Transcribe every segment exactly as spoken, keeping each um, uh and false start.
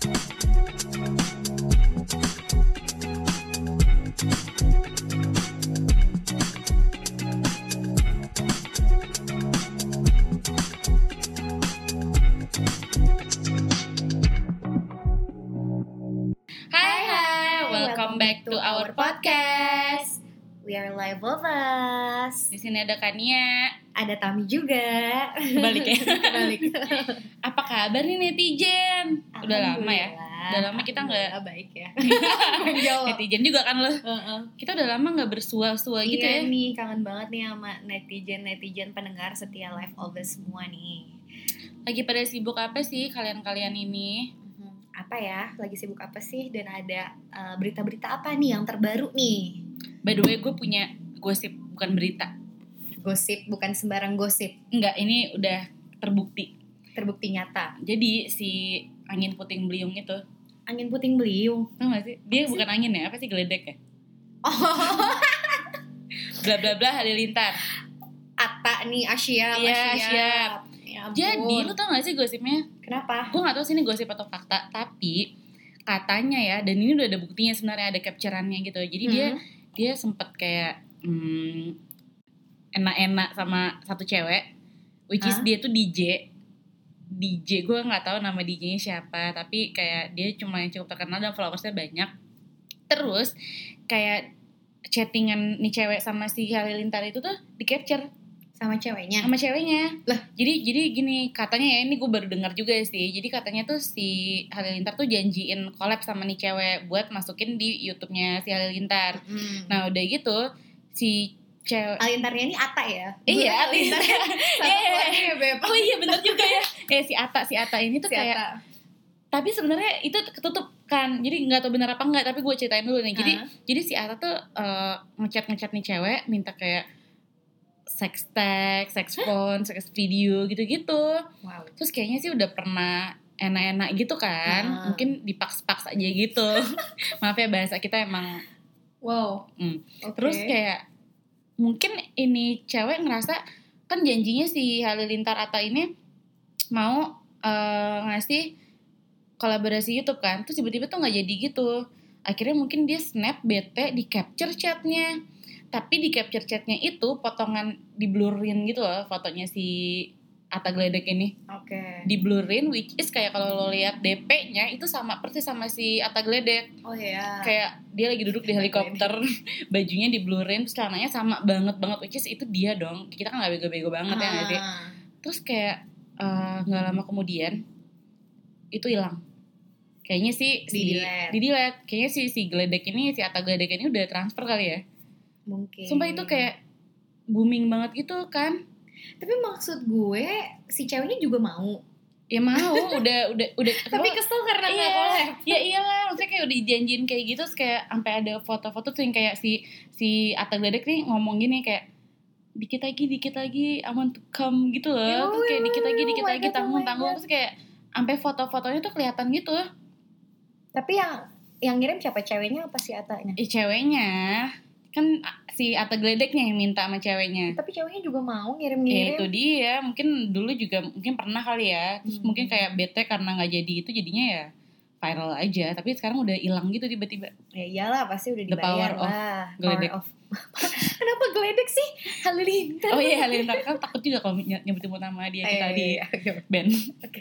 Welcome back to our podcast. We are live of us. Di sini ada Kania, ada Tami juga. Kebalik ya. Kebalik. Apa kabar nih netizen? Udah lama ya? Udah lama kita nggak baik ya. Netizen juga kan lo. Uh-uh. Kita udah lama nggak bersua-sua iya gitu ya. Iya nih, kangen banget nih sama netizen-netizen pendengar setia live of us semua nih. Lagi pada sibuk apa sih kalian-kalian ini? Apa ya, lagi sibuk apa sih, dan ada uh, berita-berita apa nih yang terbaru nih? By the way, gue punya gosip, bukan berita. Gosip, bukan sembarang gosip. Enggak, ini udah terbukti. Terbukti nyata. Jadi si angin puting beliung itu. Angin puting beliung? Tau gak sih? Dia apa bukan sih? angin ya, apa sih, geledek ya? Oh. Bla bla bla halilintar. Ata nih, Asia, Iya, Asia. siap. Ya Jadi, lu tau gak sih gosipnya? Kenapa? Gue gak tahu sih ini gosip atau fakta, tapi katanya ya, dan ini udah ada buktinya sebenarnya, ada capture-annya gitu. Jadi hmm. dia dia sempet kayak hmm, enak-enak sama satu cewek, which is huh? dia tuh D J. D J, gue gak tahu nama D J-nya siapa, tapi kayak dia cuma yang cukup terkenal dan followersnya banyak. Terus kayak chattingan nih cewek sama si Halilintar itu tuh di-capture sama ceweknya. Sama ceweknya. Lah, jadi jadi gini, katanya ya, ini gue baru dengar juga sih. Jadi katanya tuh si Halilintar tuh janjiin collab sama nih cewek buat masukin di YouTube-nya si Halilintar. Hmm. Nah, udah gitu si cewek Halilintarnya ini Ata ya? Iya, Halilintar. Iya, Beb. Oh iya, bener juga ya. Eh si Ata, si Ata ini tuh si kayak Ata. Tapi sebenarnya itu ketutup kan. Jadi enggak tahu benar apa enggak, tapi gue ceritain dulu nih. Jadi uh. jadi si Ata tuh uh, ngechat-ngechat nih cewek, minta kayak sex text, sex phone, sex video gitu-gitu. Wow. Terus kayaknya sih udah pernah enak-enak gitu kan. Uh. Mungkin dipaks-paks aja gitu. Maaf ya, bahasa kita emang wow. Hmm. Okay. Terus kayak mungkin ini cewek ngerasa kan janjinya si Halilintar Ata ini mau uh, ngasih kolaborasi YouTube kan. Terus tiba-tiba tuh nggak jadi gitu. Akhirnya mungkin dia snap bete, di capture chatnya. Tapi di capture chatnya itu potongan di blurrin gitu loh fotonya si Ata Geledek ini. Oke. Okay. Di blurrin, which is kayak kalau lo lihat D P-nya itu sama persis sama si Ata Geledek. Oh iya. Kayak dia lagi duduk di helikopter, bajunya di blurrin, celananya sama banget banget, which is itu dia dong. Kita kan nggak bego-bego banget ah. ya nggak sih. Terus kayak nggak uh, lama kemudian itu hilang. Kayaknya sih si di delete. Kayaknya si si Geledek ini, si Ata Geledek ini udah transfer kali ya. Mungkin. Sumpah itu kayak booming banget gitu kan. Tapi maksud gue si ceweknya juga mau. Ya mau, udah udah udah. Tapi kesel karena iya, gak collab. Ya iyalah, maksudnya kayak udah dijanjiin kayak gitu, terus kayak sampai ada foto-foto tuh yang kayak si si Ata Geledek nih ngomong gini kayak dikit lagi, dikit lagi, I want to come gitu loh. Yo, terus kayak dikit lagi, dikit lagi, tanggung-tanggung, terus kayak sampai foto-fotonya tuh kelihatan gitu. Tapi yang yang ngirim siapa, ceweknya apa si Atanya? Eh ceweknya. Kan si Ata Geledeknya yang minta sama ceweknya. Tapi ceweknya juga mau ngirim-ngirim. Ya itu dia, mungkin dulu juga mungkin pernah kali ya. Terus hmm. mungkin kayak bete karena gak jadi itu, jadinya ya viral aja. Tapi sekarang udah hilang gitu tiba-tiba. Ya iyalah, pasti udah dibayar. The power lah. of Geledek. Power of... Kenapa Geledek sih? Halilintar. Oh iya, Halilintar kan takut juga kalau nyebut-nyebut nama dia kita di band. Oke.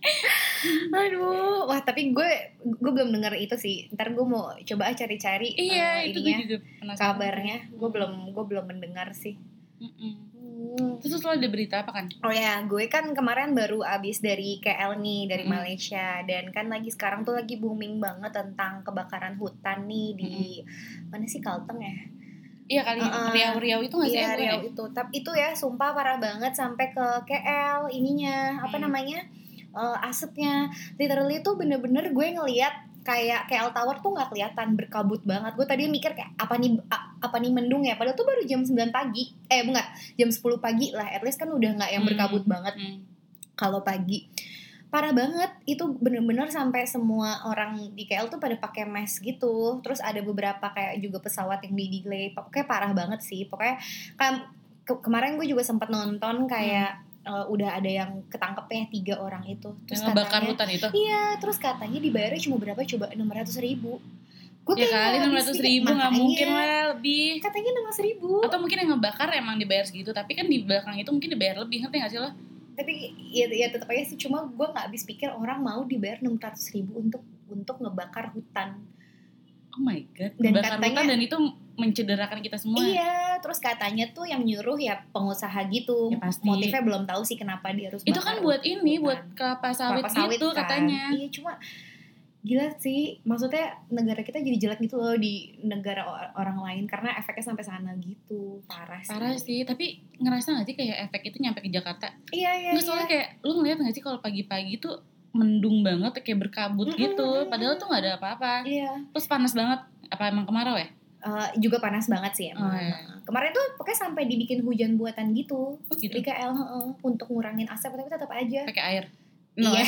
Aduh, wah tapi gue gue belum dengar itu sih. Ntar gue mau coba cari-cari iya, uh, itu ininya, gue juga kabarnya. Gue belum gue belum mendengar sih. Hmm. Terus lo ada berita apa kan? Oh ya, gue kan kemarin baru abis dari K L nih, dari mm. Malaysia. Dan kan lagi sekarang tuh lagi booming banget tentang kebakaran hutan nih di mm. mana sih, Kalteng ya? Iya kali, uh, Riau-Riau itu gak sih? Iya, Riau itu. Tapi itu ya sumpah parah banget sampai ke K L ininya, apa mm. namanya? Uh, asapnya. Literally tuh bener-bener gue ngeliat kayak K L Tower tuh nggak kelihatan, berkabut banget. Gue tadi mikir kayak apa nih apa nih mendung ya, padahal tuh baru jam sembilan pagi. Eh enggak, jam sepuluh pagi lah. At least kan udah nggak yang berkabut hmm. banget. Hmm. Kalau pagi parah banget, itu bener-bener sampai semua orang di K L tuh pada pakai mask gitu. Terus ada beberapa kayak juga pesawat yang di delay. Pokoknya parah banget sih. Pokoknya kan ke- kemarin gue juga sempat nonton kayak hmm. uh, udah ada yang ketangkepnya tiga orang itu. Terus yang ngebakar katanya, hutan itu. Iya, terus katanya dibayarnya cuma berapa coba enam ratus ribu. Gue Ya kali enam ratus ribu nggak mungkin lah lebih. Katanya enam ratus ribu. Atau mungkin yang ngebakar emang dibayar segitu, tapi kan di belakang itu mungkin dibayar lebih, ngerti nggak sih lo? Tapi ya, ya tetap aja sih, cuma gue nggak habis pikir orang mau dibayar enam ratus ribu untuk untuk ngebakar hutan. Oh my god, dan ngebakar katanya, hutan dan itu mencederakan kita semua. Iya, terus katanya tuh yang nyuruh ya pengusaha gitu. Ya pasti. Motifnya belum tahu sih kenapa dia harus. Itu kan buat ini, hutan. Buat kelapa sawit, kelapa sawit gitu kan. Katanya. Iya, cuma gila sih, maksudnya negara kita jadi jelek gitu loh di negara orang lain karena efeknya sampai sana gitu. Parah sih. Parah sih, tapi ngerasa gak sih kayak efek itu nyampe ke Jakarta? Iya, iya. Nggak, soalnya iya. Kayak lu ngeliat gak sih kalau pagi-pagi tuh mendung banget, kayak berkabut mm-hmm, gitu, mm-hmm. Padahal tuh gak ada apa-apa. Iya. Terus panas banget, apa emang kemarau ya? Uh, juga panas banget sih emang. Oh, iya. Kemarin tuh pokoknya sampai dibikin hujan buatan gitu. Oh, gitu? Di K L uh, untuk ngurangin asap, tapi tetap aja. Pakai air. No, iya.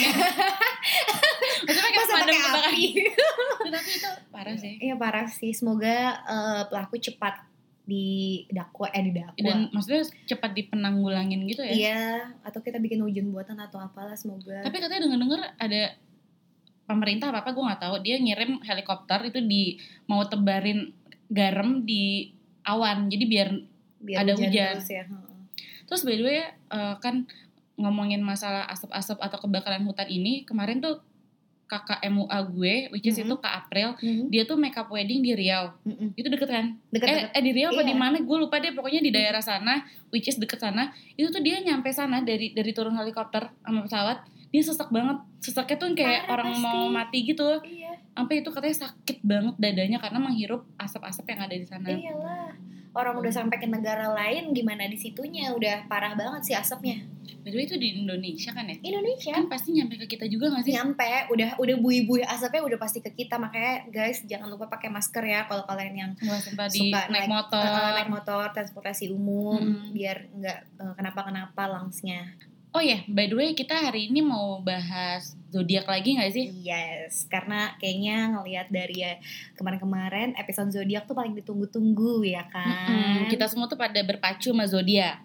Maksudnya kayak pemadam kebakaran. Tapi itu parah sih. Iya parah sih. Semoga uh, pelaku cepat didakwa eh didakwa. Dan maksudnya cepat dipenanggulangin gitu ya? Iya. Atau kita bikin hujan buatan atau apalah, semoga. Tapi katanya dengar-dengar ada pemerintah apa apa gue nggak tahu, dia ngirim helikopter itu di mau tebarin garam di awan, jadi biar, biar ada hujan, hujan. Terus, ya. Terus by the way uh, kan ngomongin masalah asap-asap atau kebakaran hutan ini, kemarin tuh kakak M U A gue, which is mm-hmm. itu Kak April, mm-hmm. dia tuh makeup wedding di Riau, mm-hmm. itu deket kan? Deket, eh, deket. eh di Riau apa iya. di mana? Gue lupa deh, pokoknya di daerah sana, which is deket sana. Itu tuh dia nyampe sana dari dari turun helikopter sama pesawat, dia sesak banget, sesaknya tuh kayak Parah, orang pasti. mau mati gitu. Iya. Sampai itu katanya sakit banget dadanya karena menghirup asap-asap yang ada di sana. Iyalah, orang udah sampai ke negara lain, gimana di situnya udah parah banget sih asapnya. By the way itu di Indonesia kan ya? Indonesia. Kan pasti nyampe ke kita juga gak sih? Nyampe, udah udah buih-buih asapnya udah pasti ke kita. Makanya guys jangan lupa pakai masker ya kalau kalian yang Wah, suka di suka naik, naik motor, uh, naik motor, transportasi umum, hmm. biar nggak uh, kenapa-kenapa lungsnya. Oh ya, yeah, by the way kita hari ini mau bahas zodiak lagi gak sih? Yes, karena kayaknya ngelihat dari ya kemarin-kemarin episode zodiak tuh paling ditunggu-tunggu ya kan. Mm-mm, kita semua tuh pada berpacu sama zodiak.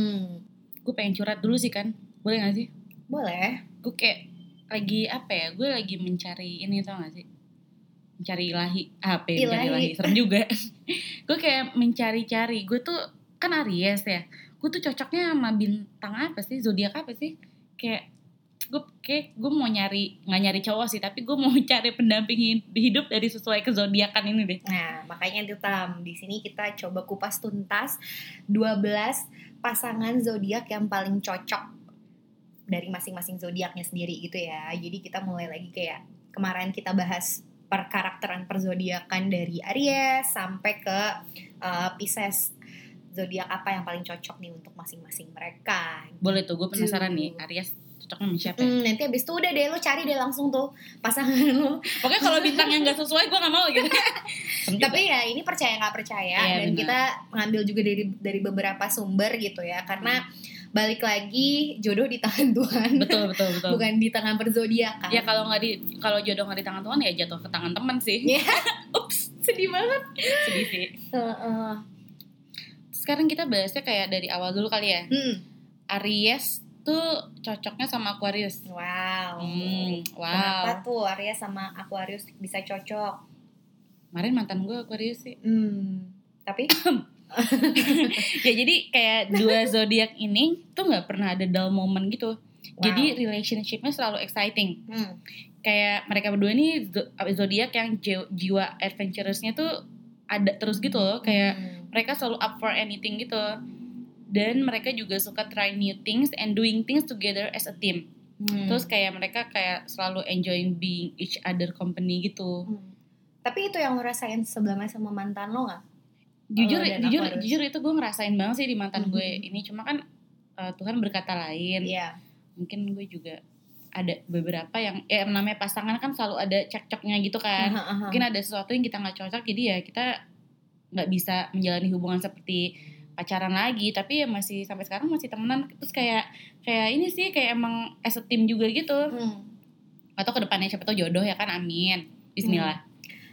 Gue pengen curhat dulu sih kan, boleh gak sih? Boleh. Gue kayak lagi apa ya, gue lagi mencari ini tau gak sih? Mencari ilahi, apa ya, mencari ilahi, serem juga. Gue kayak mencari-cari, gue tuh kan Aries ya. Gue tuh cocoknya sama bintang apa sih, zodiak apa sih? Kayak gue kayak gue mau nyari, nggak nyari cowok sih, tapi gue mau cari pendamping hidup dari sesuai ke zodiakan ini deh. Nah makanya itu Tam, di sini kita coba kupas tuntas dua belas pasangan zodiak yang paling cocok dari masing-masing zodiaknya sendiri gitu ya. Jadi kita mulai lagi kayak kemarin kita bahas perkarakteran perzodiakan dari Aries sampai ke uh, Pisces. Zodiak apa yang paling cocok nih untuk masing-masing mereka. Boleh tuh, gue penasaran nih Aries cocoknya sama siapa ya? Hmm, nanti abis itu udah deh lo cari deh langsung tuh pasangan lo. Pokoknya kalau bintang yang gak sesuai gue gak mau gitu. Tapi ya ini percaya gak percaya ya, dan bener. Kita ngambil juga dari dari beberapa sumber gitu ya. Karena hmm. balik lagi jodoh di tangan Tuhan. Betul betul betul. Bukan di tangan perzodiakan. Ya kalau nggak di kalau jodoh nggak di tangan Tuhan ya jatuh ke tangan teman sih. Ups, sedih banget. Sedih sih. Uh, uh. Sekarang kita bahasnya kayak dari awal dulu kali ya. Hmm. Aries tuh cocoknya sama Aquarius. Wow. Hmm, wow. Kenapa tuh Aries sama Aquarius bisa cocok? Kemarin mantan gue Aquarius sih. Hmm. Tapi ya jadi kayak dua zodiak ini tuh nggak pernah ada dull moment gitu. Wow. Jadi relationshipnya selalu exciting. Hmm. Kayak mereka berdua ini zodiak yang jiwa adventurousnya tuh ada terus gitu loh. Kayak hmm. mereka selalu up for anything gitu. Dan mereka juga suka try new things and doing things together as a team. Hmm. Terus kayak mereka kayak selalu enjoying being each other company gitu. Hmm. Tapi itu yang lo rasain sebelumnya sama mantan lo gak? Jujur jujur Aquarius. Jujur itu gue ngerasain banget sih di mantan hmm. gue ini. Cuma kan uh, Tuhan berkata lain. Yeah. Mungkin gue juga ada beberapa yang ya namanya pasangan kan selalu ada cekcoknya gitu kan. Uh-huh, uh-huh. Mungkin ada sesuatu yang kita gak cocok, jadi ya kita gak bisa menjalani hubungan seperti pacaran lagi, tapi ya masih sampai sekarang masih temenan. Terus kayak kayak ini sih kayak emang as a team juga gitu. Hmm. Atau kedepannya siapa tahu jodoh ya kan, amin. Bismillah. Hmm.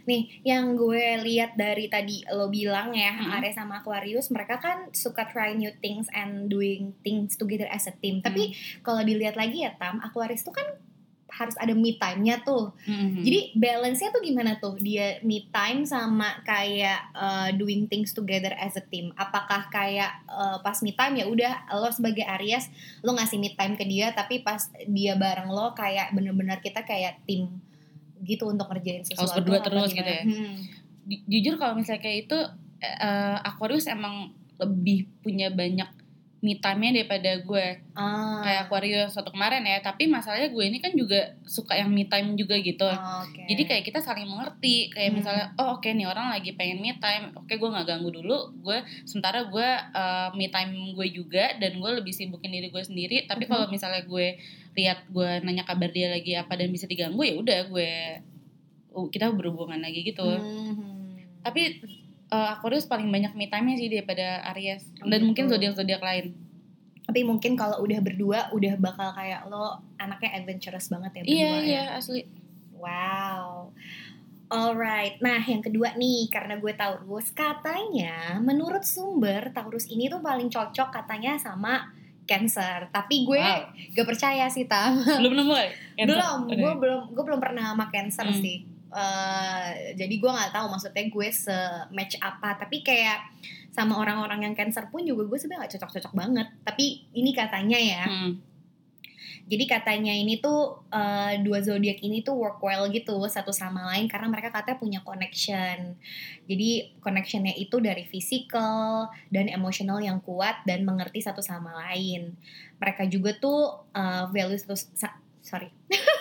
Nih, yang gue lihat dari tadi lo bilang ya, Mm-hmm. Aries sama Aquarius, mereka kan suka try new things and doing things together as a team. Tapi Mm. kalau dilihat lagi ya Tam, Aquarius tuh kan harus ada me time-nya tuh. Mm-hmm. Jadi balance-nya tuh gimana tuh? Dia me time sama kayak uh, doing things together as a team. Apakah kayak uh, pas me time ya udah lo sebagai Aries lo ngasih me time ke dia, tapi pas dia bareng lo kayak bener-bener kita kayak tim gitu untuk ngerjain sesuatu. Harus berdua apa terus gimana? gitu ya. Hmm. Jujur kalau misalnya kayak itu uh, Aquarius emang lebih punya banyak me time-nya daripada gue. Ah. Kayak Aquarius waktu kemarin ya. Tapi masalahnya gue ini kan juga suka yang me time juga gitu. Oh, okay. Jadi kayak kita saling mengerti. Kayak Hmm. misalnya oh oke okay, nih orang lagi pengen me time, oke okay, gue gak ganggu dulu. Gue sementara gue uh, me time gue juga, dan gue lebih sibukin diri gue sendiri. Tapi Hmm. kalau misalnya gue lihat gue nanya kabar dia lagi apa dan bisa diganggu, ya udah gue uh, kita berhubungan lagi gitu. Hmm. Tapi uh, Aquarius paling banyak me time-nya sih daripada Aries. Oh, Dan gitu. mungkin zodiak-zodiak lain. Tapi mungkin kalau udah berdua udah bakal kayak lo anaknya adventurous banget ya berdua. Iya ya. iya asli. Wow. Alright. Nah yang kedua nih, karena gue Taurus, katanya menurut sumber Taurus ini tuh paling cocok katanya sama Cancer. Tapi gue Wow. gak percaya sih Tam. Belum nemu ya? Belum. Gue belum gue belum pernah sama Cancer Hmm. sih. Uh, jadi gue nggak tahu maksudnya gue se-match apa, tapi kayak sama orang-orang yang Cancer pun juga gue sebenarnya nggak cocok-cocok banget. Tapi ini katanya ya, Hmm. jadi katanya ini tuh uh, dua zodiak ini tuh work well gitu satu sama lain karena mereka katanya punya connection. Jadi connectionnya itu dari physical dan emosional yang kuat dan mengerti satu sama lain. Mereka juga tuh uh, values terus sa- sorry.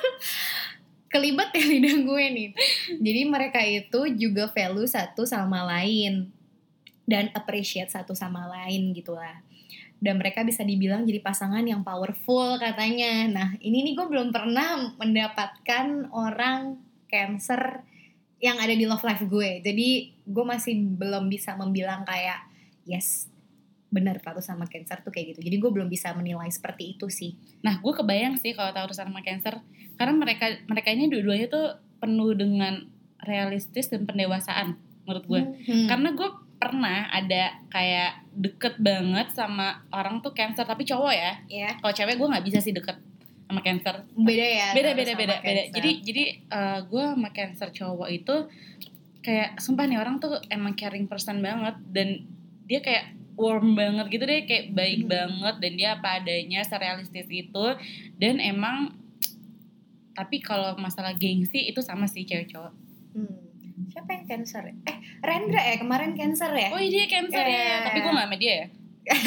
Kelibet ya lidah gue nih. Jadi mereka itu juga value satu sama lain dan appreciate satu sama lain gitu lah. Dan mereka bisa dibilang jadi pasangan yang powerful katanya. Nah ini nih gue belum pernah mendapatkan orang Cancer yang ada di love life gue. Jadi gue masih belum bisa membilang kayak yes benar Taurus sama Cancer tuh kayak gitu. Jadi gue belum bisa menilai seperti itu sih. Nah gue kebayang sih kalau Taurus sama Cancer, karena mereka mereka ini dua-duanya tuh penuh dengan realistis dan pendewasaan menurut gue. Hmm. Karena gue pernah ada kayak deket banget sama orang tuh Cancer tapi cowok ya. Ya. Kalau cewek gue nggak bisa sih deket sama Cancer. Beda ya. Beda Taurus beda sama beda beda. Cancer. Jadi jadi uh, gue sama Cancer cowok itu kayak sumpah nih orang tuh emang caring person banget, dan dia kayak warm banget gitu deh, kayak baik Hmm. banget, dan dia apa adanya serealistis itu. Dan emang tapi kalau masalah gengsi itu sama sih cewek cowok. Hmm. Siapa yang Cancer? Eh, Rendra ya kemarin Cancer ya? Oh iya dia Cancer Eh. ya, tapi gue gak sama dia ya.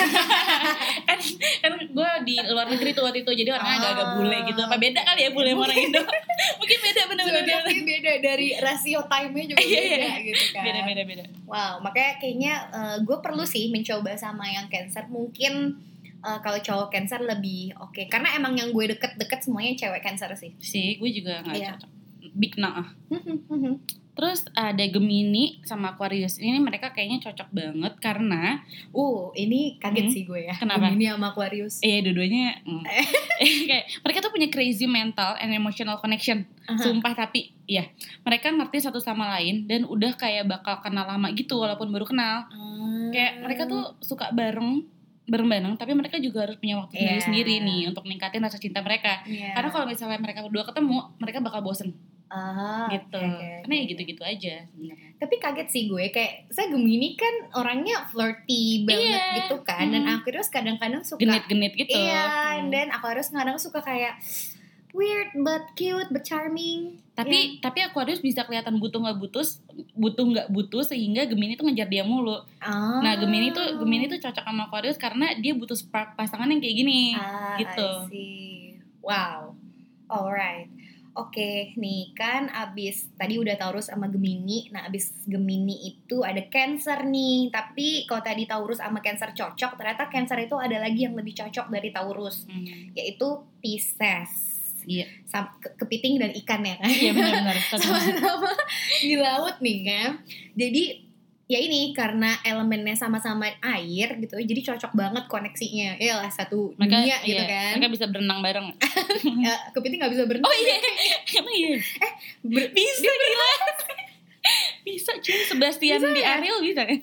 kan kan gue di luar negeri tuh waktu itu, jadi orangnya Ah. agak-agak bule gitu. Apa beda kali ya bule sama orang Indo? Mungkin beda bener-bener beda. Zodiaknya beda dari rasio time-nya juga Iya, beda iya. gitu kan. Beda beda beda. Wow, makanya kayaknya uh, gue perlu sih mencoba sama yang Cancer. Mungkin uh, kalau cowok Cancer lebih oke, okay. Karena emang yang gue deket-deket semuanya cewek Cancer sih. Sih gue juga gak Iya. cocok. Big nah. Terus ada Gemini sama Aquarius. Ini mereka kayaknya cocok banget karena uh, ini kaget Hmm. sih gue ya. Kenapa? Gemini sama Aquarius. eh dua-duanya mm. kayak mereka tuh punya crazy mental and emotional connection. Aha. Sumpah, tapi ya mereka ngerti satu sama lain dan udah kayak bakal kenal lama gitu walaupun baru kenal. Hmm. Kayak mereka tuh suka bareng bareng-bareng, tapi mereka juga harus punya waktu Iya. sendiri-sendiri nih untuk ningkatin rasa cinta mereka. Iya. Karena kalau misalnya mereka berdua ketemu, mereka bakal bosen Ah, gitu. oke, oke, Karena ya oke. gitu-gitu aja sebenarnya. Tapi kaget sih gue, kayak saya Gemini kan orangnya flirty banget Iya. gitu kan. Dan Hmm. Aquarius kadang-kadang suka Genit-genit gitu. Iya, Hmm. dan Aquarius kadang suka kayak weird but cute but charming. Tapi tapi Aquarius bisa kelihatan butuh nggak butuh, butuh nggak butuh sehingga Gemini tuh ngejar dia mulu. Ah. Nah Gemini tuh Gemini tuh cocok sama Aquarius karena dia butuh spark pasangan yang kayak gini, ah, gitu. I see. Wow. Alright. Oke, nih kan abis tadi udah Taurus sama Gemini. Nah abis Gemini itu ada Cancer nih. Tapi kalau tadi Taurus sama Cancer cocok, ternyata Cancer itu ada lagi yang lebih cocok dari Taurus, Hmm. yaitu Pisces. Iya, Sam- ke- kepiting dan ikan ya kan. iya benar-benar. Sama-sama di laut nih kan. Jadi ya ini karena elemennya sama-sama air gitu, jadi cocok banget koneksinya. Ya lah satu Mereka, dunia gitu iya, kan. mereka bisa berenang bareng. Ya, kepiting nggak bisa berenang. Oh iya, emang iya. Ber- Bisa gila. Bisa cuy, Sebastian Bisa di ya? Ariel bisa kan?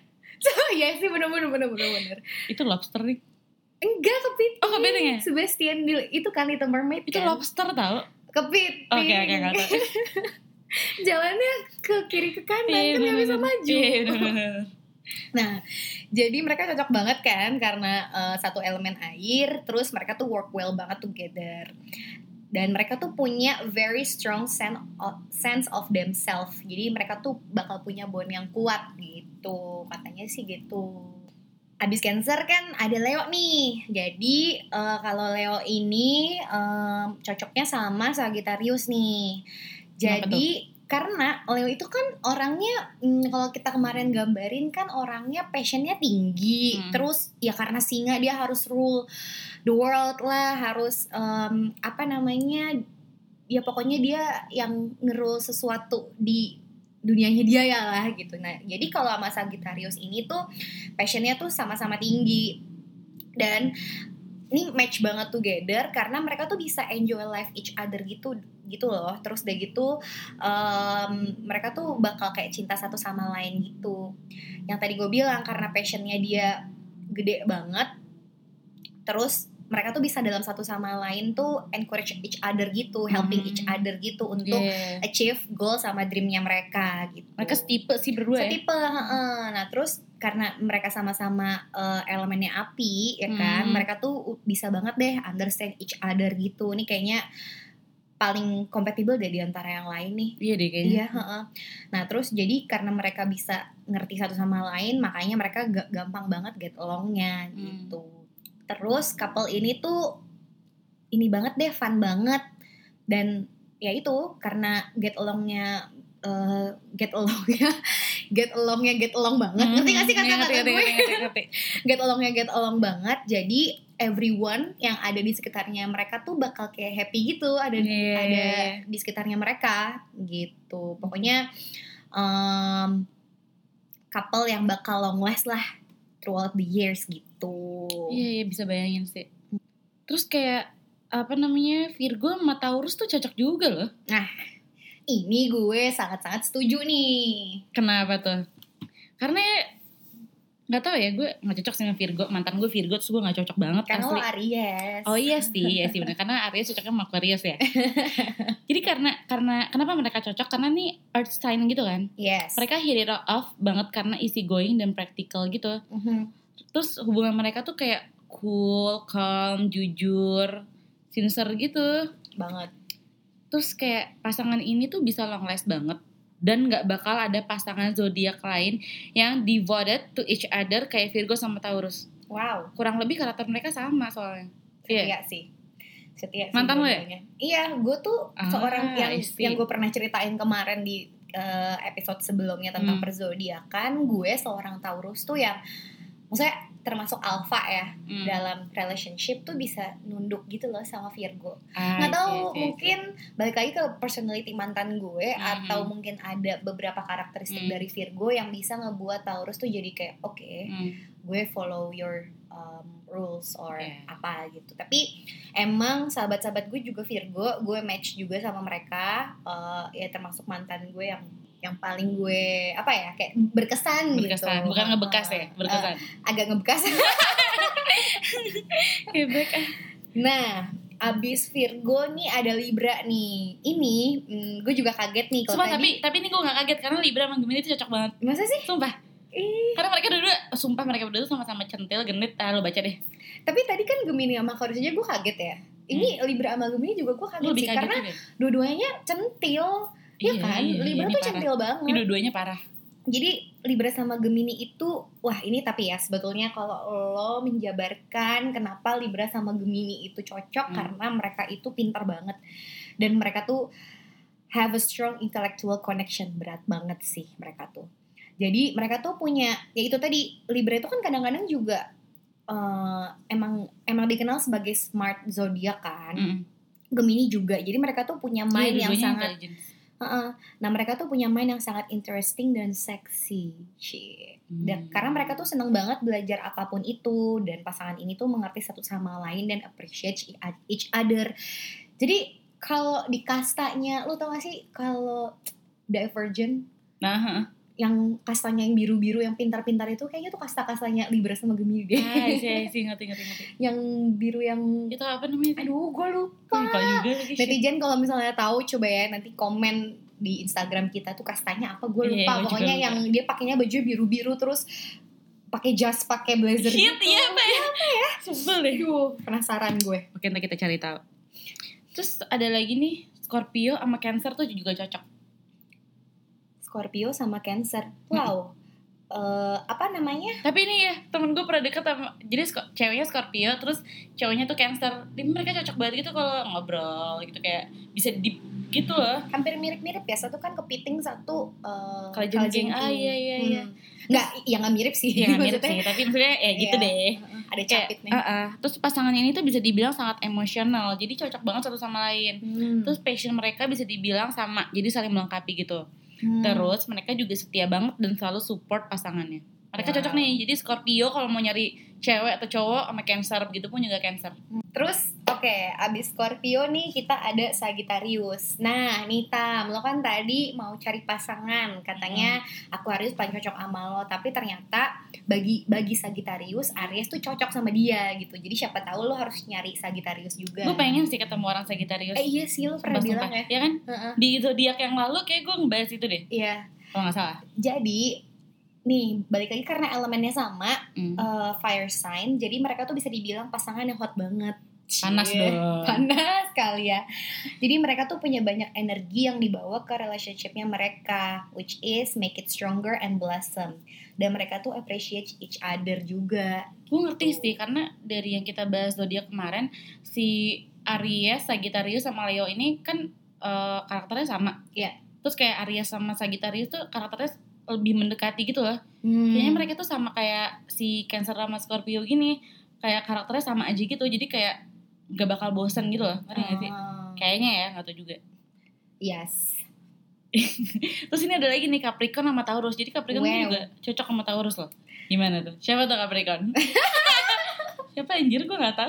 Iya sih, bener-bener bener-bener bener. Itu lobster nih. Enggak, kepiting. Oh, kepiting ya? Sebastian di itu kan Little Mermaid Itu kan. lobster tau. Kepiting. Oke oke nggak tahu. Jalannya ke kiri ke kanan Iya, kan nggak bisa bener-bener. maju. Iya, bener-bener. Nah, jadi mereka cocok banget kan karena uh, satu elemen air, terus mereka tuh work well banget together. Dan mereka tuh punya very strong sense of, sense of themselves. Jadi mereka tuh bakal punya bond yang kuat gitu. Katanya sih gitu. Abis Cancer kan ada Leo nih. Jadi uh, kalau Leo ini um, cocoknya sama Sagittarius nih. Jadi karena Leo itu kan orangnya hmm, kalau kita kemarin gambarin kan orangnya passionnya tinggi. Hmm. Terus ya karena singa dia harus rule the world lah, harus um, apa namanya, ya pokoknya dia yang ngerul sesuatu di dunianya dia ya lah gitu. Nah jadi kalau sama Sagittarius ini tuh passionnya tuh sama-sama tinggi, dan ini match banget together karena mereka tuh bisa enjoy life each other gitu gitu loh. Terus udah gitu um, mereka tuh bakal kayak cinta satu sama lain gitu. Yang tadi gue bilang karena passionnya dia gede banget, terus mereka tuh bisa dalam satu sama lain tuh encourage each other gitu, helping hmm. each other gitu untuk yeah. achieve goal sama dreamnya mereka gitu. Mereka setipe sih berdua setipe, ya? Setipe, nah terus karena mereka sama-sama uh, elemennya api ya kan, hmm. mereka tuh bisa banget deh understand each other gitu. Ini kayaknya paling compatible deh di antara yang lain nih. Iya deh kayaknya. Iya, uh-uh. Nah terus jadi karena mereka bisa ngerti satu sama lain, makanya mereka g- gampang banget get alongnya hmm. gitu. Terus couple ini tuh ini banget deh, fun banget. Dan ya itu karena get alongnya uh, get alongnya get alongnya get along banget. Ngerti gak sih kata-kata gue? Get alongnya get along banget. Jadi everyone yang ada di sekitarnya mereka tuh bakal kayak happy gitu, ada yeah. ada di sekitarnya mereka gitu. Pokoknya um, couple yang bakal long last lah throughout the years gitu. Iya, iya bisa bayangin sih. Terus kayak apa namanya, Virgo sama Taurus tuh cocok juga loh. Nah, ini gue sangat-sangat setuju nih. Kenapa tuh? Karena nggak tahu ya, gue nggak cocok sama Virgo. Mantan gue Virgo, terus gue nggak cocok banget. Karena lo Aries. Oh iya sih, iya sih benar. Karena Aries cocoknya sama Aquarius ya. Jadi karena karena kenapa mereka cocok? Karena nih Earth sign gitu kan. Yes. Mereka hit it off banget karena easy going dan practical gitu. Mm-hmm. Terus hubungan mereka tuh kayak cool, calm, jujur, sincere gitu. Banget. Terus kayak pasangan ini tuh bisa long last banget. Dan gak bakal ada pasangan zodiak lain yang devoted to each other kayak Virgo sama Taurus. Wow. Kurang lebih karakter mereka sama soalnya. Setia yeah. sih. Setia sih. Mantan lo ya? Iya, gue tuh ah, seorang yang yang gue pernah ceritain kemarin di uh, episode sebelumnya tentang hmm. perzodiakan. Gue seorang Taurus tuh yang maksudnya termasuk alpha ya, hmm. dalam relationship tuh bisa nunduk gitu loh sama Virgo. Ah, nggak tahu okay, okay, mungkin okay. balik lagi ke personality mantan gue hmm. atau mungkin ada beberapa karakteristik hmm. dari Virgo yang bisa ngebuat Taurus tuh jadi kayak oke, okay, hmm. gue follow your um, rules or yeah. apa gitu. Tapi emang sahabat-sahabat gue juga Virgo, gue match juga sama mereka. Uh, ya termasuk mantan gue yang yang paling gue apa ya kayak berkesan, berkesan. gitu. Bukan ngebekas ya, berkesan. Uh, agak ngebekas. Hebek. Nah, abis Virgo nih ada Libra nih. Ini hmm, gue juga kaget nih. Sumpah, tadi, tapi tapi ini gue nggak kaget karena Libra sama Gemini itu cocok banget. Masa sih? Sumpah. Eh. Karena mereka berdua, sumpah mereka berdua sama-sama centil, genit. Ah, lo baca deh. Tapi tadi kan Gemini sama Aquarius aja gue kaget ya. Ini hmm. Libra sama Gemini juga gue kaget sih kaget karena juga. Dua-duanya centil. Iya kan, iya, Libra tuh centil banget. Ini dua-duanya parah. Jadi Libra sama Gemini itu, wah ini tapi ya sebetulnya kalau lo menjabarkan kenapa Libra sama Gemini itu cocok, hmm. karena mereka itu pintar banget. Dan mereka tuh have a strong intellectual connection, berat banget sih mereka tuh. Jadi mereka tuh punya, ya itu tadi, Libra itu kan kadang-kadang juga uh, emang emang dikenal sebagai smart zodiak kan. Hmm. Gemini juga, jadi mereka tuh punya mind yeah, yang sangat... Uh-uh. Nah mereka tuh punya mind yang sangat interesting dan seksi, hmm. dan karena mereka tuh seneng banget belajar apapun itu, dan pasangan ini tuh mengerti satu sama lain dan appreciate each other. Jadi kalau di kastanya, lo tau gak sih kalau Divergent, Nah, huh. yang kastanya yang biru-biru yang pintar-pintar itu kayaknya tuh kasta-kastanya Libra sama Gemini deh. Ah, sih, sih, ngerti, ngerti, ngerti. Yang biru yang itu apa namanya? Aduh, gue lupa. Lupa juga lagi. Netizen kalau misalnya tahu coba ya nanti komen di Instagram kita tuh kastanya apa, gue lupa. Iya, gue Pokoknya yang dia pakainya baju biru-biru terus pakai jas, pakai blazer Shit, gitu. Iya, apa ya? Apa ya? Sebel deh. Aduh, penasaran gue. Oke, nanti kita cari tahu. Terus ada lagi nih, Scorpio sama Cancer tuh juga cocok. Scorpio sama Cancer. Wow. Hmm. Uh, apa namanya? Tapi ini ya, temen gue pernah deket sama, jadi sko- ceweknya Scorpio, terus cowoknya tuh Cancer. Jadi mereka cocok banget gitu kalau ngobrol gitu, kayak bisa deep gitu loh. Hampir mirip-mirip ya, satu kan kepiting, satu uh, kalajengking. Ah iya iya iya. Hmm. Nggak, ya nggak mirip sih. Iya mirip sih, tapi maksudnya ya gitu iya. deh. Ada capitnya. Uh, uh. Terus pasangannya ini tuh bisa dibilang sangat emosional, jadi cocok banget satu sama lain. Hmm. Terus passion mereka bisa dibilang sama, jadi saling melengkapi gitu. Hmm. Terus mereka juga setia banget dan selalu support pasangannya. Mereka wow. cocok nih. Jadi Scorpio kalau mau nyari cewek atau cowok sama Cancer begitu pun juga Cancer. Terus oke, okay, abis Scorpio nih kita ada Sagittarius. Nah, nih Tam, lo kan tadi mau cari pasangan, katanya hmm. Aquarius paling cocok sama lo, tapi ternyata bagi bagi Sagittarius, Aries tuh cocok sama dia gitu. Jadi siapa tahu lo harus nyari Sagittarius juga. Gue pengen sih ketemu orang Sagittarius. Eh iya sih, lo pernah bilang ya. Ya kan? Uh-uh. Di zodiak yang lalu kayak gue ngebahas itu deh. Iya. Kalau nggak salah. Jadi nih balik lagi karena elemennya sama, mm. uh, fire sign, jadi mereka tuh bisa dibilang pasangan yang hot banget. Panas dong. Panas kali ya. Jadi mereka tuh punya banyak energi yang dibawa ke relationshipnya mereka, which is make it stronger and blossom. Dan mereka tuh appreciate each other juga. Gue ngerti sih, karena dari yang kita bahas zodiak kemarin, si Aries, Sagittarius sama Leo ini kan uh, karakternya sama. Iya. Yeah. Terus kayak Aries sama Sagittarius tuh karakternya lebih mendekati gitu loh. Hmm. Kayaknya mereka tuh sama kayak si Cancer sama Scorpio gini, kayak karakternya sama aja gitu. Jadi kayak gak bakal bosan gitu loh. Ngerti gak sih? Kayaknya ya, gak tau juga. Yes. Terus ini ada lagi nih Capricorn sama Taurus. Jadi Capricorn wow. juga cocok sama Taurus loh. Gimana tuh? Siapa tuh Capricorn? Siapa anjir, gue gak tahu.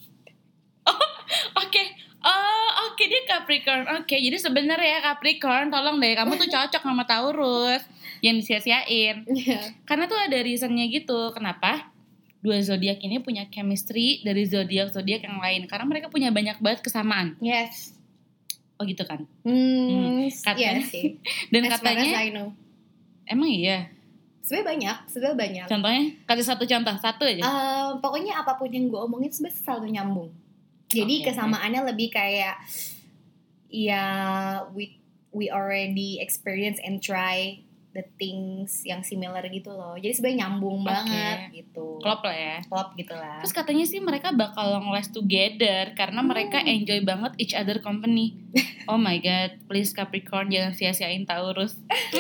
Oh, oke. Okay. Oh, oke okay, dia Capricorn. Oke, okay, jadi sebenarnya Capricorn, tolong deh, kamu tuh cocok sama Taurus. Yang disia-siain. Yeah. Karena tuh ada reasonnya gitu. Kenapa? Dua zodiak ini punya chemistry dari zodiak-zodiak yang lain. Karena mereka punya banyak banget kesamaan. Yes. Oh gitu kan? Hmm, katanya yes. sih. Dan as katanya I know. Emang iya? Sebenarnya banyak, sebenarnya banyak. Contohnya? Kasih satu contoh, satu aja. Uh, pokoknya apapun yang gue omongin sebenarnya selalu nyambung. Jadi okay, kesamaannya okay. lebih kayak ya we we already experience and try the things yang similar gitu loh. Jadi sebenarnya nyambung okay. banget gitu. Klop lah ya. Klop gitu lah. Terus katanya sih mereka bakal long last together karena hmm. mereka enjoy banget each other company. Oh my god, please Capricorn jangan sia-siain Taurus.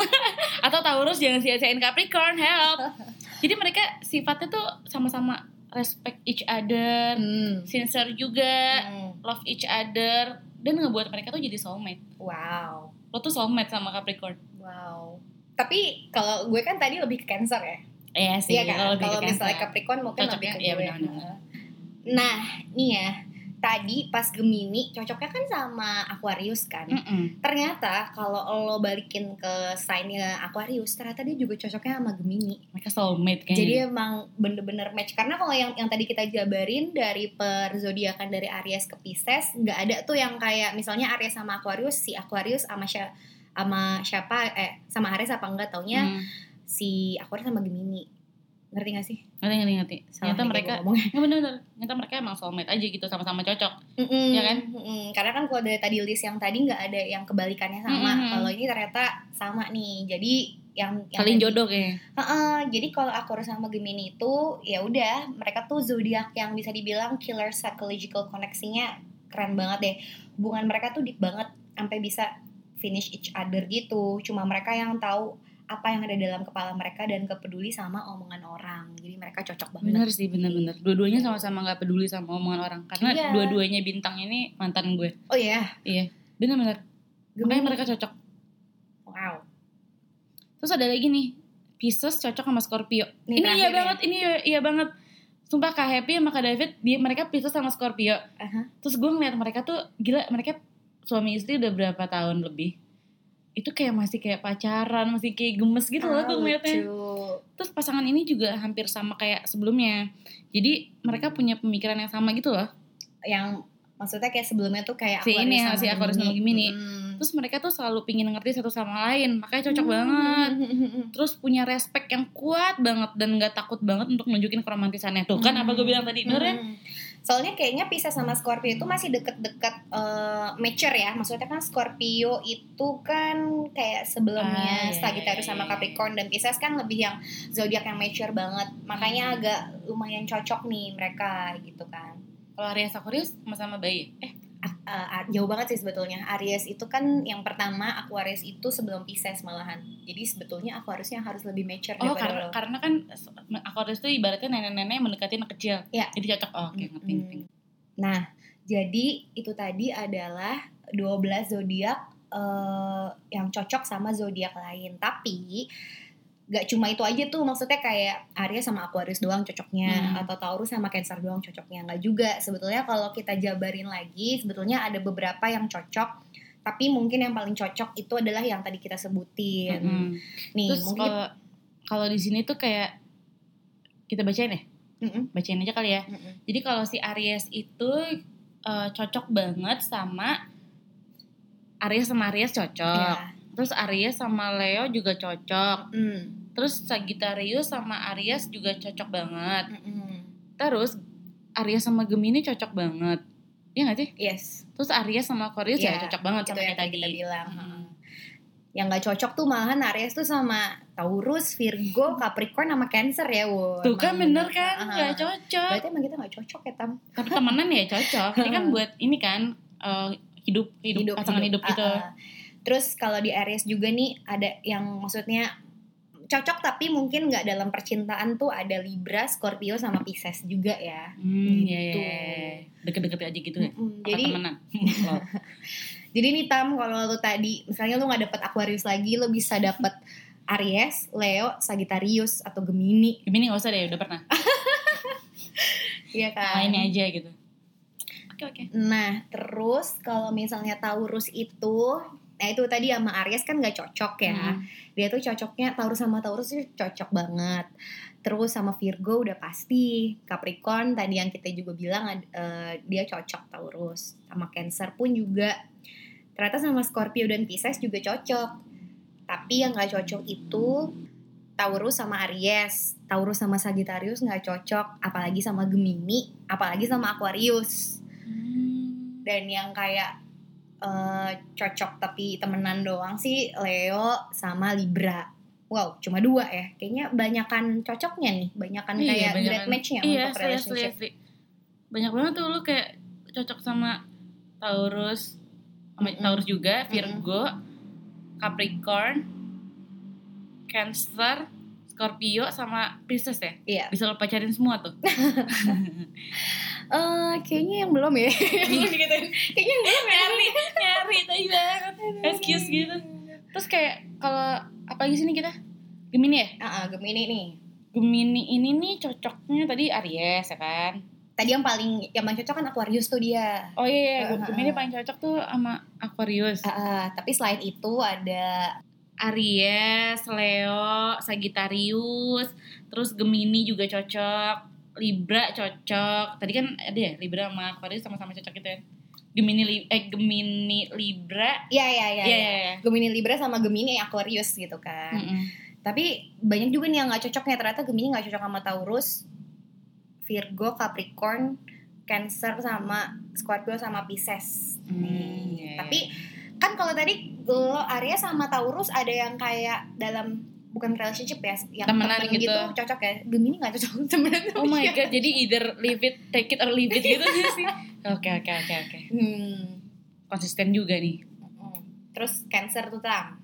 Atau Taurus jangan sia-siain Capricorn, help. Jadi mereka sifatnya tuh sama-sama respect each other, hmm. sincere juga, hmm. love each other, dan ngebuat mereka tuh jadi soulmate. Wow. Lo tuh soulmate sama Capricorn. Wow. Tapi kalau gue kan tadi lebih ke Cancer ya. Iya sih. Iya kan. Kalau misalnya Capricorn mungkin cocoknya, lebih ke iya, gue. Benar-benar. Nah, nih ya. Tadi pas Gemini cocoknya kan sama Aquarius kan. Mm-mm. Ternyata kalau lo balikin ke sign-nya Aquarius, ternyata dia juga cocoknya sama Gemini. Mereka soulmate kayaknya. Jadi emang bener-bener match. Karena kalau yang yang tadi kita jabarin dari per zodiakan dari Aries ke Pisces, nggak ada tuh yang kayak misalnya Aries sama Aquarius, si Aquarius sama si sama siapa eh sama Aries apa enggak, taunya hmm. si Aquarius sama Gemini. Ngerti gak sih? Ngerti, ngerti, ngerti. Ternyata mereka ya bener-bener, ternyata mereka emang soulmate aja gitu, sama-sama cocok. Mm-mm, ya kan? Mm-mm. Karena kan kalau dari tadi list yang tadi gak ada yang kebalikannya sama. Mm-hmm. Kalau ini ternyata sama nih. Jadi yang, yang saling jodoh kayaknya. Uh-uh, jadi kalau Aquarius sama Gemini itu ya udah, mereka tuh zodiak yang bisa dibilang killer psychological koneksinya keren banget deh. Hubungan mereka tuh deep banget sampai bisa finish each other gitu. Cuma mereka yang tahu apa yang ada dalam kepala mereka dan kepeduli sama omongan orang. Jadi mereka cocok banget. Bener sih, bener-bener. Dua-duanya sama-sama gak peduli sama omongan orang. Karena iya. dua-duanya bintang ini mantan gue. Oh iya? Iya, bener-bener. Makanya mereka cocok. Wow. Terus ada lagi nih, Pisces cocok sama Scorpio. Ini, ini iya ya. banget, ini iya, iya banget. Sumpah Kak Happy sama Kak David, dia, mereka Pisces sama Scorpio. Uh-huh. Terus gue ngeliat mereka tuh, gila, mereka suami istri udah berapa tahun lebih. itu kayak masih kayak pacaran, masih kayak gemes gitu loh gue ngeliatnya. Terus pasangan ini juga hampir sama kayak sebelumnya. Jadi mereka punya pemikiran yang sama gitu loh. Yang maksudnya kayak sebelumnya tuh kayak si Aquarius ini sama si Aquarius sama Gemini. Hmm. Terus mereka tuh selalu pingin ngerti satu sama lain, makanya cocok hmm. banget. Terus punya respect yang kuat banget dan nggak takut banget untuk nunjukin keromantisannya. Tuh kan hmm. apa gue bilang tadi, bener ya? Hmm. Soalnya kayaknya Pisces sama Scorpio itu masih deket-deket uh, mature ya. Maksudnya kan Scorpio itu kan kayak sebelumnya ah, Sagittarius yeah, sama Capricorn, dan Pisces kan lebih yang zodiak yang mature banget. Makanya hmm. agak lumayan cocok nih mereka gitu kan. Kalau Aries Aquarius sama-sama bayi. Eh, uh, uh, jauh banget sih sebetulnya. Aries itu kan yang pertama, Aquarius itu sebelum Pisces malahan. Jadi sebetulnya Aquariusnya harus lebih mature oh, daripada karena, lo. Karena kan Aquarius itu ibaratnya nenek-nenek mendekati anak kecil. Ya. Jadi cocok. Oh, oke, okay, ngerti, hmm. ngerti. Nah, jadi itu tadi adalah dua belas zodiak uh, yang cocok sama zodiak lain. Tapi gak cuma itu aja tuh, maksudnya kayak Aries sama Aquarius doang cocoknya, hmm. atau Taurus sama Cancer doang cocoknya. Gak juga, sebetulnya kalau kita jabarin lagi, sebetulnya ada beberapa yang cocok, tapi mungkin yang paling cocok itu adalah yang tadi kita sebutin. Hmm. Nih, terus mungkin kalau kalau di sini tuh kayak kita bacain ya, Mm-mm. bacain aja kali ya. Mm-mm. Jadi kalau si Aries itu uh, cocok banget sama Aries sama Aries cocok. Yeah. Terus Aries sama Leo juga cocok. Mm. Terus Sagittarius sama Aries juga cocok banget. Mm-mm. Terus Aries sama Gemini cocok banget. Iya gak sih? Yes. Terus Aries sama Aquarius yeah, ya cocok banget sama kayak tadi. Kita bilang. Hmm. Yang gak cocok tuh malahan Aries tuh sama Taurus, Virgo, Capricorn sama Cancer ya. Wow, tuh kan bener kan, uh-huh. gak cocok. Berarti emang kita gak cocok ya, Tam. Tapi temenan ya cocok. Ini kan buat ini kan uh, hidup, hidup, hidup, pasangan hidup, hidup gitu. Uh-uh. Terus kalau di Aries juga nih ada yang maksudnya cocok tapi mungkin nggak dalam percintaan tuh ada Libra, Scorpio sama Pisces juga ya. Hmm, gitu. Ya, ya. Deket-deket aja gitu ya. Mm-hmm. Jadi temenan. Jadi nih Tam, kalau lu tadi misalnya lu nggak dapet Aquarius lagi, lu bisa dapet Aries, Leo, Sagittarius atau Gemini. Gemini nggak usah deh, udah pernah. Iya kan. Mainnya aja gitu. Oke oke. Nah terus kalau misalnya Taurus itu, nah itu tadi sama Aries kan gak cocok ya. Hmm. Dia tuh cocoknya Taurus sama Taurus tuh cocok banget. Terus sama Virgo udah pasti. Capricorn tadi yang kita juga bilang uh, dia cocok Taurus. Sama Cancer pun juga. Ternyata sama Scorpio dan Pisces juga cocok. Tapi yang gak cocok itu Taurus sama Aries. Taurus sama Sagittarius gak cocok. Apalagi sama Gemini. Apalagi sama Aquarius. Hmm. Dan yang kayak Uh, cocok tapi temenan doang sih Leo sama Libra. Wow, cuma dua ya. Kayaknya banyakan cocoknya nih, banyakan iya, kayak banyakan, great match-nya iya, untuk relationship. Iya, banyak banget tuh lu kayak cocok sama Taurus, sama mm-hmm. Taurus juga, Virgo, mm-hmm. Capricorn, Cancer, Scorpio sama Pisces ya. Iya. Bisa lo pacarin semua tuh. Uh, kayaknya yang belum ya. Gitu. Kayaknya yang belum ya. Nyari, nyari tadi banget. Excuse gitu. Terus kayak kalau apa lagi sini kita? Gemini ya? Uh-uh, Gemini nih. Gemini ini nih cocoknya tadi Aries ya kan? Tadi yang paling yang paling cocok kan Aquarius tuh dia. Oh iya, iya. Uh-huh. Gemini paling cocok tuh sama Aquarius. Uh-uh, tapi selain itu ada Aries, Leo, Sagittarius, terus Gemini juga cocok. Libra cocok. Tadi kan ada ya Libra sama Aquarius sama-sama cocok gitu ya. Gemini eh Gemini Libra. Iya iya iya. Ya, ya, ya. Gemini Libra sama Gemini Aquarius gitu kan. Mm-mm. Tapi banyak juga nih yang enggak cocoknya. Ternyata Gemini enggak cocok sama Taurus, Virgo, Capricorn, Cancer sama Scorpio sama Pisces. Mm, yeah. Tapi kan kalau tadi lo Aries sama Taurus ada yang kayak dalam bukan relationship ya, yang temenan temen gitu. gitu cocok ya. Gemini nggak cocok temenan. Oh my god, jadi either leave it, take it or leave it gitu sih. Oke oke oke oke. Konsisten juga nih. Terus Cancer tuh Tam.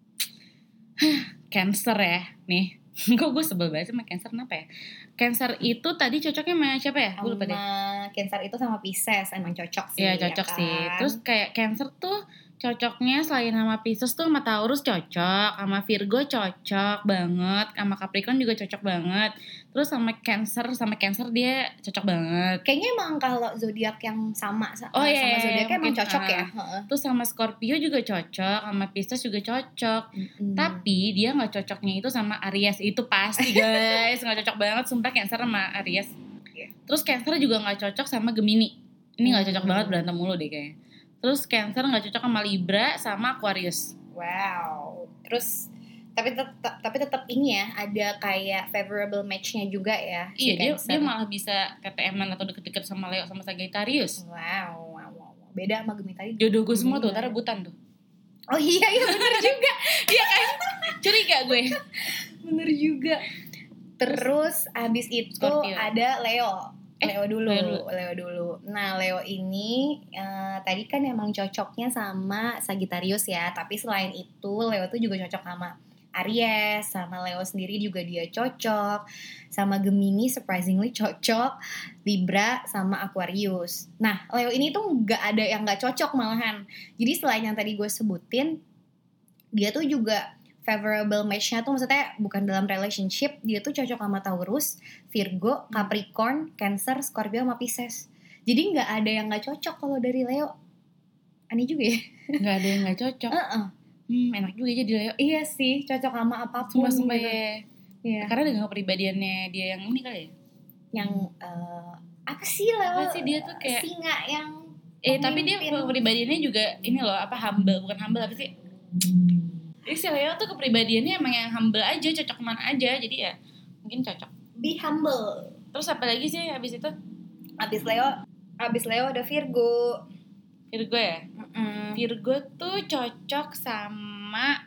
Cancer ya, nih. Kok gue sebel banget sama Cancer, kenapa ya? Cancer itu tadi cocoknya sama siapa ya? Gue lupa deh. Cancer itu sama Pisces emang cocok sih. Iya cocok ya kan? sih. Terus kayak Cancer tuh cocoknya selain sama Pisces tuh sama Taurus cocok, sama Virgo cocok banget, sama Capricorn juga cocok banget. Terus sama Cancer, sama Cancer dia cocok banget. Kayaknya emang kalau zodiak yang sama Oh, sama iya, zodiaknya emang mungkin, cocok uh, ya. Terus sama Scorpio juga cocok, sama Pisces juga cocok. Mm-mm. Tapi dia nggak cocoknya itu sama Aries, itu pasti guys, nggak cocok banget sumpah Cancer sama Aries. Terus Cancer juga nggak cocok sama Gemini. Ini nggak cocok Hmm. banget, berantem mulu deh kayaknya. Terus Cancer nggak cocok sama Libra sama Aquarius. Wow. Terus tapi tetap tapi tetap ini ya ada kayak favorable match-nya juga ya. si Iya, dia Cancer. dia malah bisa T T M-an atau deket-deket sama Leo sama Sagittarius. Wow, wow, wow. Beda sama Gemini tadi. Jodoh gue semua tuh, Gemini. ntar rebutan tuh. Oh iya, iya bener juga. Iya kan? Curiga gue. Bener juga. Terus abis itu Scorpio. ada Leo. Eh, Leo dulu, Leo dulu. Leo dulu. Nah, Leo ini uh, tadi kan emang cocoknya sama Sagittarius ya. Tapi selain itu, Leo tuh juga cocok sama Aries, sama Leo sendiri juga dia cocok, sama Gemini surprisingly cocok, Libra sama Aquarius. Nah, Leo ini tuh nggak ada yang nggak cocok malahan. Jadi selain yang tadi gue sebutin, dia tuh juga favorable match-nya tuh maksudnya bukan dalam relationship, dia tuh cocok sama Taurus, Virgo, Capricorn, Cancer, Scorpio sama Pisces. Jadi nggak ada yang nggak cocok kalau dari Leo. Aneh juga ya. Nggak ada yang nggak cocok. Uh-uh. Hmm, enak juga jadi Leo. Iya sih, cocok sama apapun. Sumpah-sumpah gitu. ya. Iya. Karena dengan kepribadiannya dia yang ini kali ya. Yang uh, apa sih Leo? Apa sih dia tuh kayak singa yang Eh tapi dia pemimpin. kepribadiannya juga ini loh, apa, humble, bukan humble apa sih? Jadi si Leo tuh kepribadiannya emang yang humble aja, cocok kemana aja, jadi ya mungkin cocok. Be humble. Terus apa lagi sih habis itu? Abis Leo, abis Leo ada Virgo. Virgo ya? Mm-mm. Virgo tuh cocok sama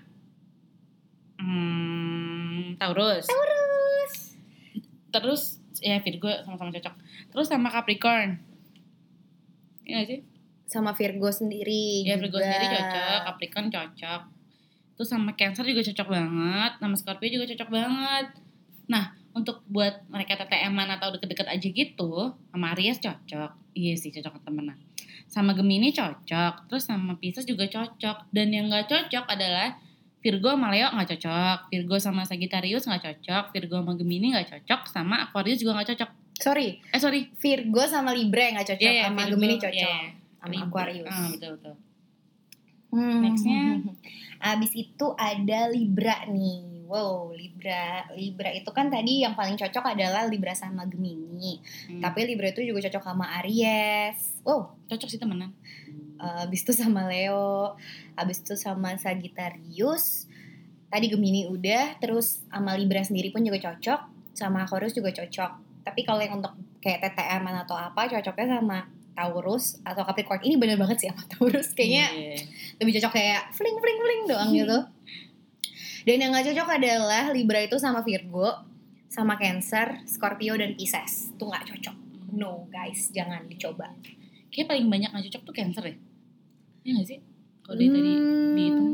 hmm, Taurus. Taurus. Terus ya Virgo sama-sama cocok. Terus sama Capricorn. Iya gak sih? Sama Virgo sendiri. Ya juga. Virgo sendiri cocok, Capricorn cocok. Terus sama Cancer juga cocok banget, sama Scorpio juga cocok banget. Nah, untuk buat mereka T T M-an atau deket-deket aja gitu, sama Aries cocok. Iya sih, cocok temenan. Sama Gemini cocok, terus sama Pisces juga cocok. Dan yang gak cocok adalah Virgo sama Leo gak cocok, Virgo sama Sagittarius gak cocok, Virgo sama Gemini gak cocok, sama Aquarius juga gak cocok. Sorry, Eh sorry, Virgo sama Libra yang gak cocok, Iya, iya, sama Virgo, Gemini cocok, iya, sama Libra. Aquarius. Ah, betul-betul. Hmm. Nextnya? Abis itu ada Libra nih. Wow, Libra. Libra itu kan tadi yang paling cocok adalah Libra sama Gemini. Hmm. Tapi Libra itu juga cocok sama Aries. Wow, Cocok sih temenan. uh, abis itu sama Leo. Abis itu sama Sagittarius. Tadi Gemini udah. Terus sama Libra sendiri pun juga cocok. Sama Aquarius juga cocok. Tapi kalau yang untuk kayak T T M-an atau apa, cocoknya sama Taurus atau Capricorn. Ini bener banget sih sama Taurus. Kayaknya Yeah. lebih cocok kayak fling fling fling doang gitu. Dan yang gak cocok adalah Libra itu sama Virgo, sama Cancer, Scorpio dan Pisces. Itu gak cocok. No guys, jangan dicoba. Kayaknya paling banyak gak cocok tuh Cancer ya? Iya gak sih? Kalau dari tadi dihitung.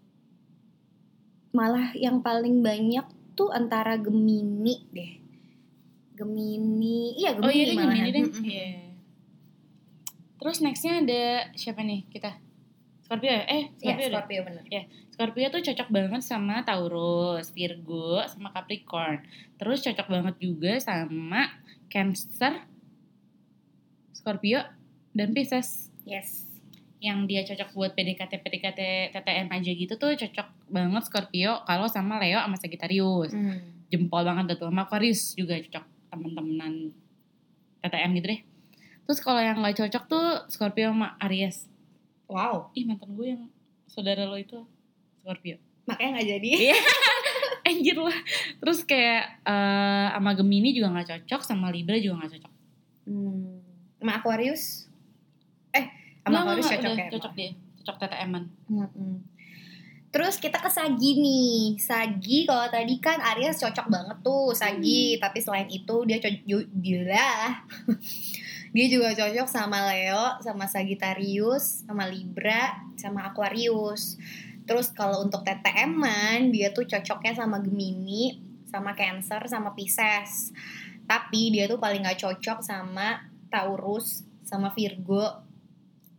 Malah yang paling banyak tuh antara Gemini deh. Gemini, iya Gemini Oh iya deh, malahan. Gemini deh. Mm-mm. Iya. Terus nextnya ada siapa nih kita? Scorpio ya? Eh, Iya, Scorpio deh. Scorpio bener. Scorpio tuh cocok banget sama Taurus, Virgo, sama Capricorn. Terus cocok banget juga sama Cancer, Scorpio, dan Pisces. Yes. Yang dia cocok buat P D K T P D K T T T M aja gitu tuh cocok banget Scorpio kalau sama Leo sama Sagittarius. Hmm. Jempol banget tuh. Sama Aquarius juga cocok temen-temenan T T M gitu deh. Terus kalau yang gak cocok tuh Scorpio sama Aries. Wow. Ih, mantan gue yang saudara lo itu Scorpio. Makanya gak jadi. Iya. Anjir lah. Terus kayak uh, sama Gemini juga gak cocok, sama Libra juga gak cocok. Hmm. Sama Aquarius? Eh, sama Aquarius cocok udah, ya? Cocok dia. Cocok T T M-an. Mm-mm. Terus kita ke Sagi nih. Sagi kalau tadi kan Aries cocok banget tuh Sagi, hmm. tapi selain itu dia cocok dia dia juga cocok sama Leo, sama Sagittarius, sama Libra, sama Aquarius. Terus kalau untuk T T M-an dia tuh cocoknya sama Gemini, sama Cancer, sama Pisces. Tapi dia tuh paling gak cocok sama Taurus, sama Virgo,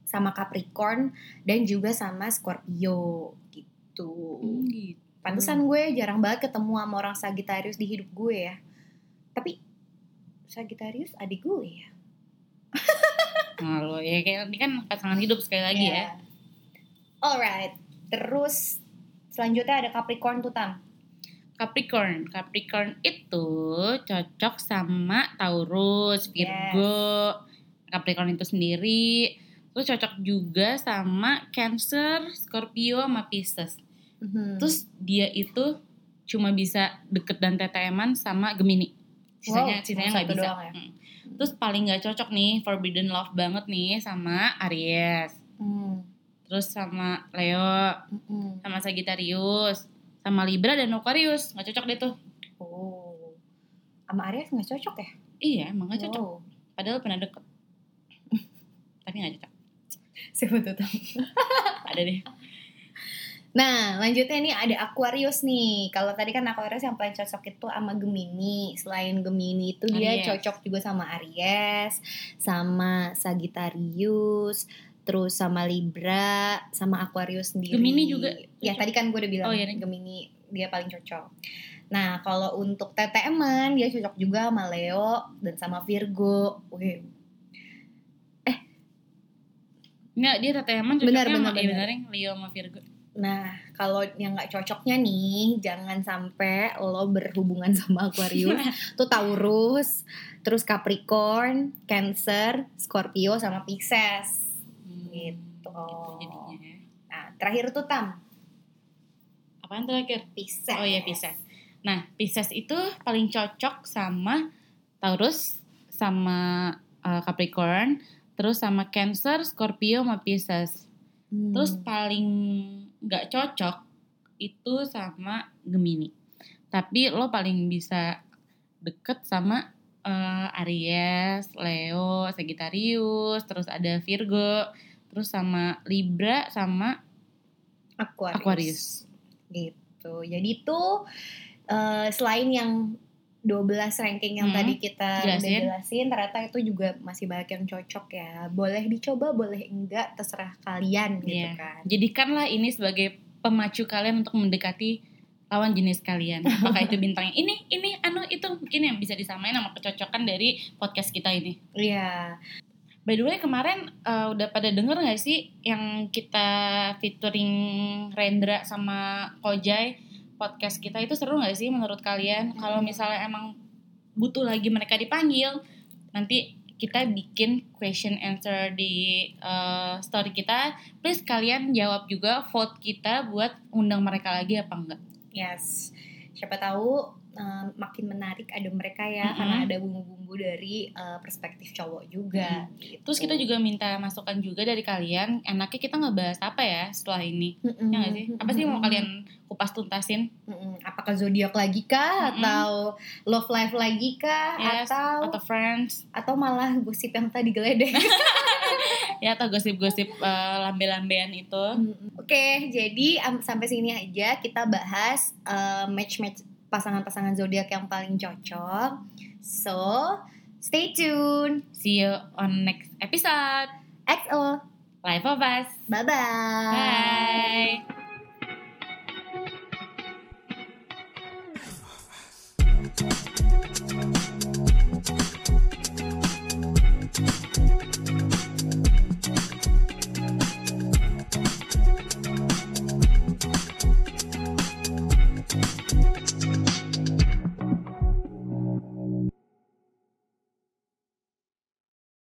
sama Capricorn dan juga sama Scorpio gitu. Hmm, gitu. Pantesan gue jarang banget ketemu sama orang Sagittarius di hidup gue ya. Tapi Sagittarius adik gue ya. Nah lo ya kayak ini kan pasangan hidup sekali lagi Yeah. ya. Alright, terus selanjutnya ada Capricorn tuh Tam. Capricorn, Capricorn itu cocok sama Taurus, Virgo, yes. Capricorn itu sendiri. Terus cocok juga sama Cancer, Scorpio, sama Pisces. Mm-hmm. Terus dia itu cuma bisa deket dan T T M-an sama Gemini. Sisanya, wow, sisanya nggak bisa. Ya? Hmm. Terus paling nggak cocok nih, forbidden love banget nih sama Aries. Mm. Terus sama Leo, mm-hmm. sama Sagittarius, sama Libra dan Aquarius. Nggak cocok deh tuh. Oh, sama Aries nggak cocok ya? Iya, emang nggak cocok. Wow. Padahal pernah deket, tapi nggak cocok. Siapa tuh Tam? Ada deh. Nah, lanjutnya nih ada Aquarius nih. Kalau tadi kan Aquarius yang paling cocok itu sama Gemini. Selain Gemini itu dia Aries. cocok juga sama Aries, sama Sagittarius, terus sama Libra, sama Aquarius sendiri. Gemini juga Ya cocok. tadi kan gue udah bilang oh, iya, Gemini dia paling cocok. Nah, kalau untuk T T M-an dia cocok juga sama Leo dan sama Virgo. Wih. Nggak, dia T T M-an cocoknya Benar, sama benar, iya, benar. benar, Leo sama Virgo. Nah, kalau yang nggak cocoknya nih, jangan sampai lo berhubungan sama Aquarius, tuh Taurus, terus Capricorn, Cancer, Scorpio, sama Pisces, Hmm, gitu. gitu jadinya ya. Nah, terakhir tuh Tam, Apaan terakhir? Pisces. Oh iya, Pisces. Nah, Pisces itu paling cocok sama Taurus, sama uh, Capricorn, terus sama Cancer, Scorpio, sama Pisces. Hmm. Terus paling nggak cocok itu sama Gemini. Tapi lo paling bisa deket sama uh, Aries, Leo, Sagittarius, terus ada Virgo, terus sama Libra, sama Aquarius. Aquarius. Gitu. Jadi tuh uh, selain yang dua belas ranking yang Hmm, tadi kita jelasin. udah jelasin, ternyata itu juga masih banyak yang cocok ya. Boleh dicoba, boleh enggak, terserah kalian gitu Yeah. kan. Jadikanlah ini sebagai pemacu kalian untuk mendekati lawan jenis kalian. Apakah itu bintangnya ini, ini, anu, itu mungkin yang bisa disamain sama kecocokan dari podcast kita ini. Iya. By the way, kemarin uh, udah pada denger gak sih yang kita featuring Rendra sama Kojai, podcast kita itu seru gak sih menurut kalian? Hmm. Kalau misalnya emang butuh lagi mereka dipanggil, nanti kita bikin question answer di uh, story kita. Please kalian jawab juga, vote kita buat undang mereka lagi apa enggak. Yes. Siapa tahu um, makin menarik ada mereka ya, Mm-hmm. karena ada bumbu-bumbu dari uh, perspektif cowok juga. Mm. Gitu. Terus kita juga minta masukan juga dari kalian. Enaknya kita ngebahas apa ya setelah ini? Mm-mm. Ya nggak sih? Apa sih mau kalian kupas tuntasin? Mm-mm. Apakah zodiak lagi kah, Mm-mm. atau love life lagi kah, Yes, atau atau friends, atau malah gosip yang tadi geledek. ya atau gosip-gosip uh, lambe-lambean itu. Mm-mm. Oke, jadi um, sampai sini aja kita bahas uh, match-match pasangan-pasangan zodiak yang paling cocok. So, stay tune. See you on next episode. X O. Life of Us. Bye-bye. Bye.